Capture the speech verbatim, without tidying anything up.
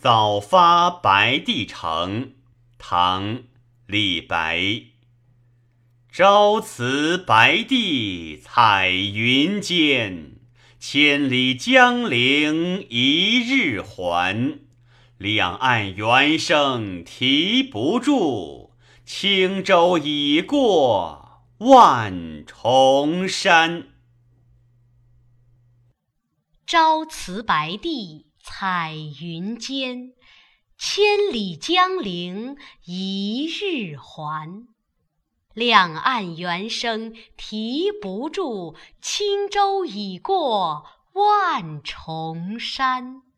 早发白帝城，唐·李白。朝辞白帝彩云间，千里江陵一日还。两岸猿声啼不住，轻舟已过万重山。 朝辞白帝彩云间，千里江陵一日还。两岸猿声啼不住，轻舟已过万重山。